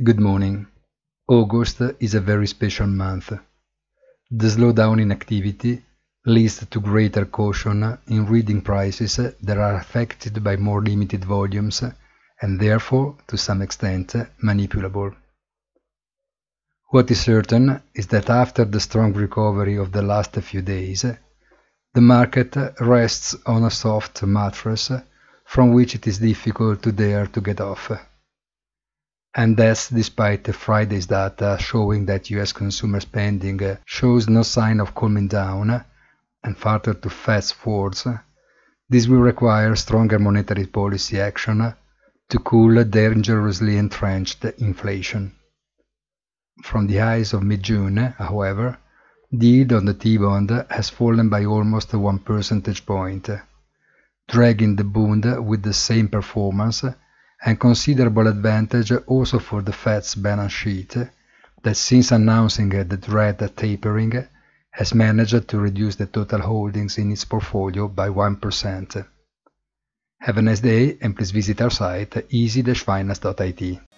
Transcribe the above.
Good morning. August is a very special month. The slowdown in activity leads to greater caution in reading prices that are affected by more limited volumes and therefore, to some extent, manipulable. What is certain is that after the strong recovery of the last few days, the market rests on a soft mattress from which it is difficult to dare to get off. And that's despite Friday's data showing that US consumer spending shows no sign of calming down, and further to Fed's words, this will require stronger monetary policy action to cool dangerously entrenched inflation. From the highs of mid-June, however, the yield on the T-bond has fallen by almost 1 percentage point, dragging the bond with the same performance and considerable advantage also for the Fed's balance sheet, that since announcing the dread tapering, has managed to reduce the total holdings in its portfolio by 1%. Have a nice day and please visit our site easy-finance.it.